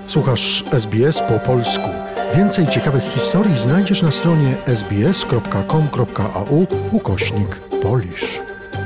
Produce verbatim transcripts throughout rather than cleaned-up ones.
Słuchasz S B S po polsku. Więcej ciekawych historii znajdziesz na stronie sbs.com.au ukośnik Polish.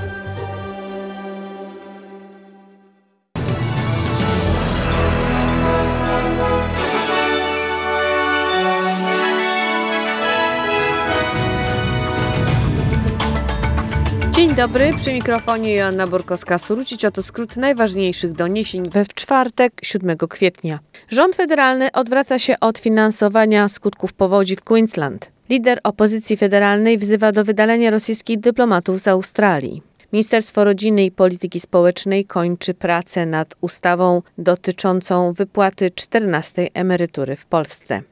Dzień dobry, przy mikrofonie Joanna Borkowska-Surucić. Oto skrót najważniejszych doniesień we czwartek, siódmego kwietnia. Rząd federalny odwraca się od finansowania skutków powodzi w Queensland. Lider opozycji federalnej wzywa do wydalenia rosyjskich dyplomatów z Australii. Ministerstwo Rodziny i Polityki Społecznej kończy pracę nad ustawą dotyczącą wypłaty czternastej emerytury w Polsce.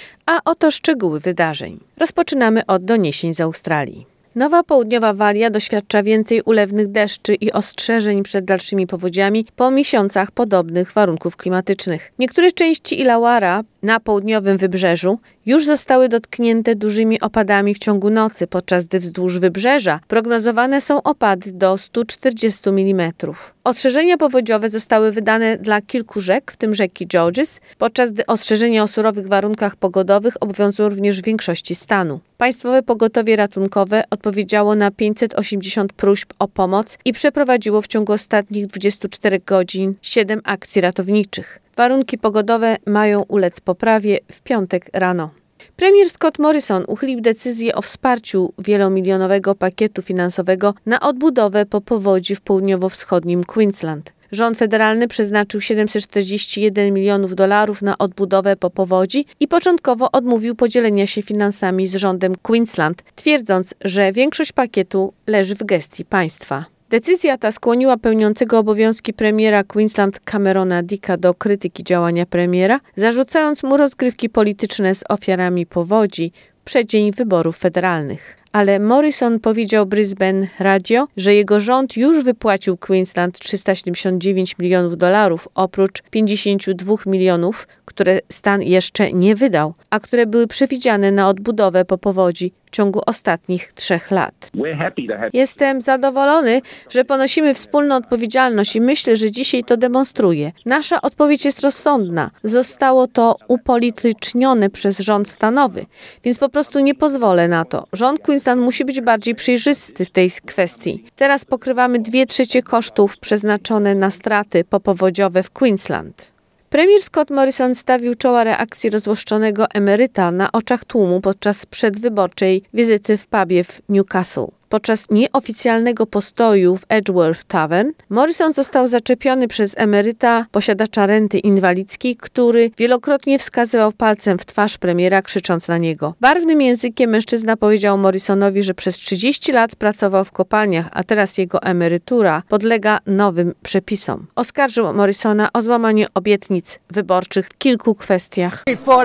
A oto szczegóły wydarzeń. Rozpoczynamy od doniesień z Australii. Nowa Południowa Walia doświadcza więcej ulewnych deszczy i ostrzeżeń przed dalszymi powodziami po miesiącach podobnych warunków klimatycznych. Niektóre części Illawarra na południowym wybrzeżu już zostały dotknięte dużymi opadami w ciągu nocy, podczas gdy wzdłuż wybrzeża prognozowane są opady do stu czterdziestu milimetrów. Ostrzeżenia powodziowe zostały wydane dla kilku rzek, w tym rzeki Georges, podczas gdy ostrzeżenia o surowych warunkach pogodowych obowiązują również w większości stanu. Państwowe Pogotowie Ratunkowe odpowiedziało na pięćset osiemdziesiąt próśb o pomoc i przeprowadziło w ciągu ostatnich dwudziestu czterech godzin siedem akcji ratowniczych. Warunki pogodowe mają ulec poprawie w piątek rano. Premier Scott Morrison uchylił decyzję o wsparciu wielomilionowego pakietu finansowego na odbudowę po powodzi w południowo-wschodnim Queensland. Rząd federalny przeznaczył siedemset czterdzieści jeden milionów dolarów na odbudowę po powodzi i początkowo odmówił podzielenia się finansami z rządem Queensland, twierdząc, że większość pakietu leży w gestii państwa. Decyzja ta skłoniła pełniącego obowiązki premiera Queensland Camerona Dicka do krytyki działania premiera, zarzucając mu rozgrywki polityczne z ofiarami powodzi w przeddzień wyborów federalnych. Ale Morrison powiedział Brisbane Radio, że jego rząd już wypłacił Queensland trzysta siedemdziesiąt dziewięć milionów dolarów oprócz pięćdziesięciu dwóch milionów, które stan jeszcze nie wydał, a które były przewidziane na odbudowę po powodzi w ciągu ostatnich trzech lat. Jestem zadowolony, że ponosimy wspólną odpowiedzialność i myślę, że dzisiaj to demonstruje. Nasza odpowiedź jest rozsądna. Zostało to upolitycznione przez rząd stanowy, więc po prostu nie pozwolę na to. Rząd Queensland musi być bardziej przejrzysty w tej kwestii. Teraz pokrywamy dwie trzecie kosztów przeznaczone na straty popowodziowe w Queensland. Premier Scott Morrison stawił czoła reakcji rozłoszczonego emeryta na oczach tłumu podczas przedwyborczej wizyty w pubie w Newcastle. Podczas nieoficjalnego postoju w Edgeworth Tavern Morrison został zaczepiony przez emeryta, posiadacza renty inwalidzkiej, który wielokrotnie wskazywał palcem w twarz premiera, krzycząc na niego. Barwnym językiem mężczyzna powiedział Morrisonowi, że przez trzydzieści lat pracował w kopalniach, a teraz jego emerytura podlega nowym przepisom. Oskarżył Morrisona o złamanie obietnic wyborczych w kilku kwestiach.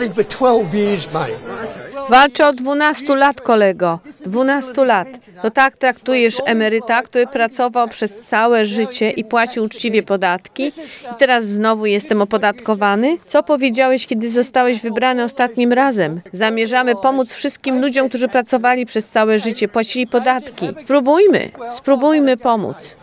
Walczę od dwunastu lat, kolego. dwunastu lat. To tak traktujesz emeryta, który pracował przez całe życie i płacił uczciwie podatki i teraz znowu jestem opodatkowany? Co powiedziałeś, kiedy zostałeś wybrany ostatnim razem? Zamierzamy pomóc wszystkim ludziom, którzy pracowali przez całe życie, płacili podatki. Spróbujmy, spróbujmy pomóc.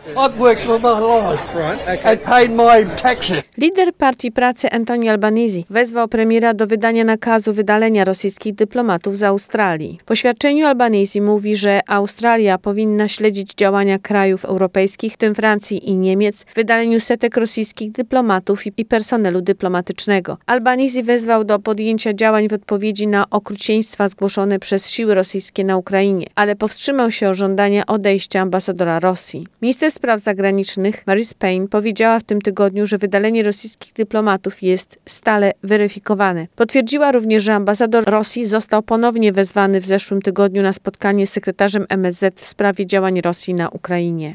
Lider Partii Pracy Anthony Albanese wezwał premiera do wydania nakazu wydalenia rosyjskich dyplomatów z Australii. W oświadczeniu Albanese mówi, że Australia powinna śledzić działania krajów europejskich, w tym Francji i Niemiec, w wydaleniu setek rosyjskich dyplomatów i personelu dyplomatycznego. Albanese wezwał do podjęcia działań w odpowiedzi na okrucieństwa zgłoszone przez siły rosyjskie na Ukrainie, ale powstrzymał się od żądania odejścia ambasadora Rosji. Minister spraw zagranicznych Marise Payne powiedziała w tym tygodniu, że wydalenie rosyjskich dyplomatów jest stale weryfikowane. Potwierdziła również, że ambasador Rosji został ponownie wezwany w zeszłym tygodniu na spotkanie z sekretarzem M S Z w sprawie działań Rosji na Ukrainie.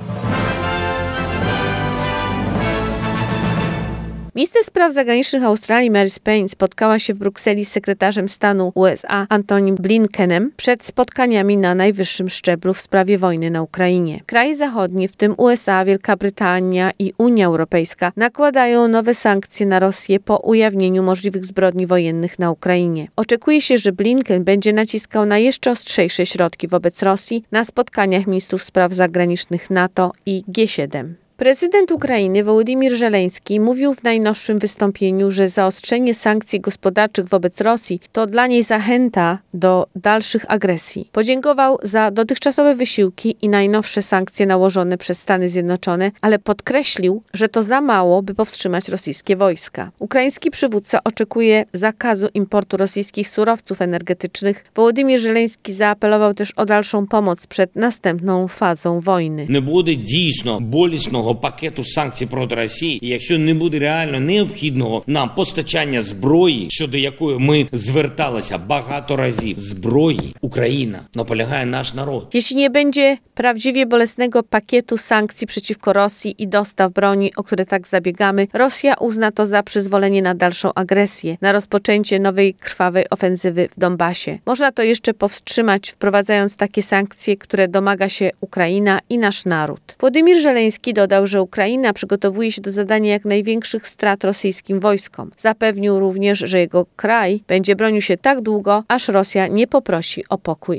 Minister spraw zagranicznych Australii Marise Payne spotkała się w Brukseli z sekretarzem stanu U S A Antonym Blinkenem przed spotkaniami na najwyższym szczeblu w sprawie wojny na Ukrainie. Kraje zachodnie, w tym U S A, Wielka Brytania i Unia Europejska, nakładają nowe sankcje na Rosję po ujawnieniu możliwych zbrodni wojennych na Ukrainie. Oczekuje się, że Blinken będzie naciskał na jeszcze ostrzejsze środki wobec Rosji na spotkaniach ministrów spraw zagranicznych NATO i G siedem. Prezydent Ukrainy Wołodymyr Żeleński mówił w najnowszym wystąpieniu, że zaostrzenie sankcji gospodarczych wobec Rosji to dla niej zachęta do dalszych agresji. Podziękował za dotychczasowe wysiłki i najnowsze sankcje nałożone przez Stany Zjednoczone, ale podkreślił, że to za mało, by powstrzymać rosyjskie wojska. Ukraiński przywódca oczekuje zakazu importu rosyjskich surowców energetycznych. Wołodymyr Żeleński zaapelował też o dalszą pomoc przed następną fazą wojny. Не буде дійсно болісного пакету санкцій проти Росії, якщо не буде реально необхідного нам постачання зброї, щодо якої ми зверталися багато разів. Зброї Україна наполягає наш народ. Jeśli nie będzie prawdziwie bolesnego pakietu sankcji przeciwko Rosji i dostaw broni, o które tak zabiegamy, Rosja uzna to za przyzwolenie na dalszą agresję, na rozpoczęcie nowej krwawej ofensywy w Donbasie. Można to jeszcze powstrzymać, wprowadzając takie sankcje, które domaga się Ukraina i nasz naród. Wołodymyr Żeleński dodał, że Ukraina przygotowuje się do zadania jak największych strat rosyjskim wojskom. Zapewnił również, że jego kraj będzie bronił się tak długo, aż Rosja nie poprosi o pokój.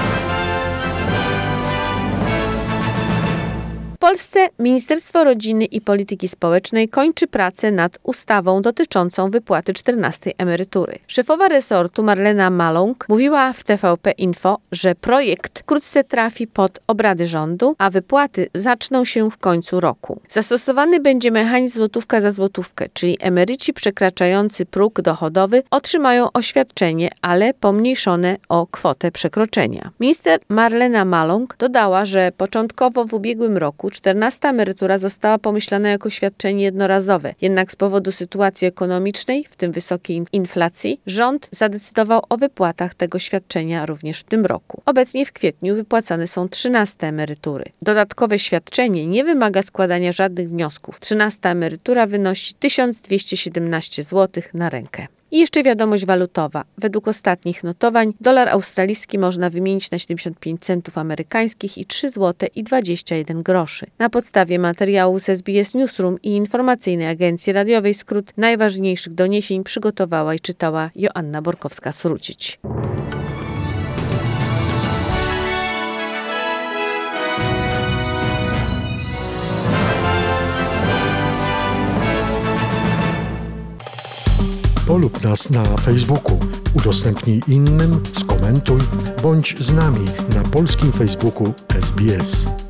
W Polsce Ministerstwo Rodziny i Polityki Społecznej kończy pracę nad ustawą dotyczącą wypłaty czternastej emerytury. Szefowa resortu Marlena Maląg mówiła w T V P Info, że projekt wkrótce trafi pod obrady rządu, a wypłaty zaczną się w końcu roku. Zastosowany będzie mechanizm złotówka za złotówkę, czyli emeryci przekraczający próg dochodowy otrzymają oświadczenie, ale pomniejszone o kwotę przekroczenia. Minister Marlena Maląg dodała, że początkowo w ubiegłym roku czternasta emerytura została pomyślana jako świadczenie jednorazowe. Jednak z powodu sytuacji ekonomicznej, w tym wysokiej inflacji, rząd zadecydował o wypłatach tego świadczenia również w tym roku. Obecnie w kwietniu wypłacane są trzynaste emerytury. Dodatkowe świadczenie nie wymaga składania żadnych wniosków. trzynasta emerytura wynosi tysiąc dwieście siedemnaście złotych na rękę. I jeszcze wiadomość walutowa. Według ostatnich notowań dolar australijski można wymienić na siedemdziesiąt pięć centów amerykańskich i trzy złote i dwadzieścia jeden groszy. Na podstawie materiału z S B S Newsroom i informacyjnej agencji radiowej Skrót najważniejszych doniesień przygotowała i czytała Joanna Borkowska-Surucić. Polub nas na Facebooku, udostępnij innym, skomentuj, bądź z nami na polskim Facebooku S B S.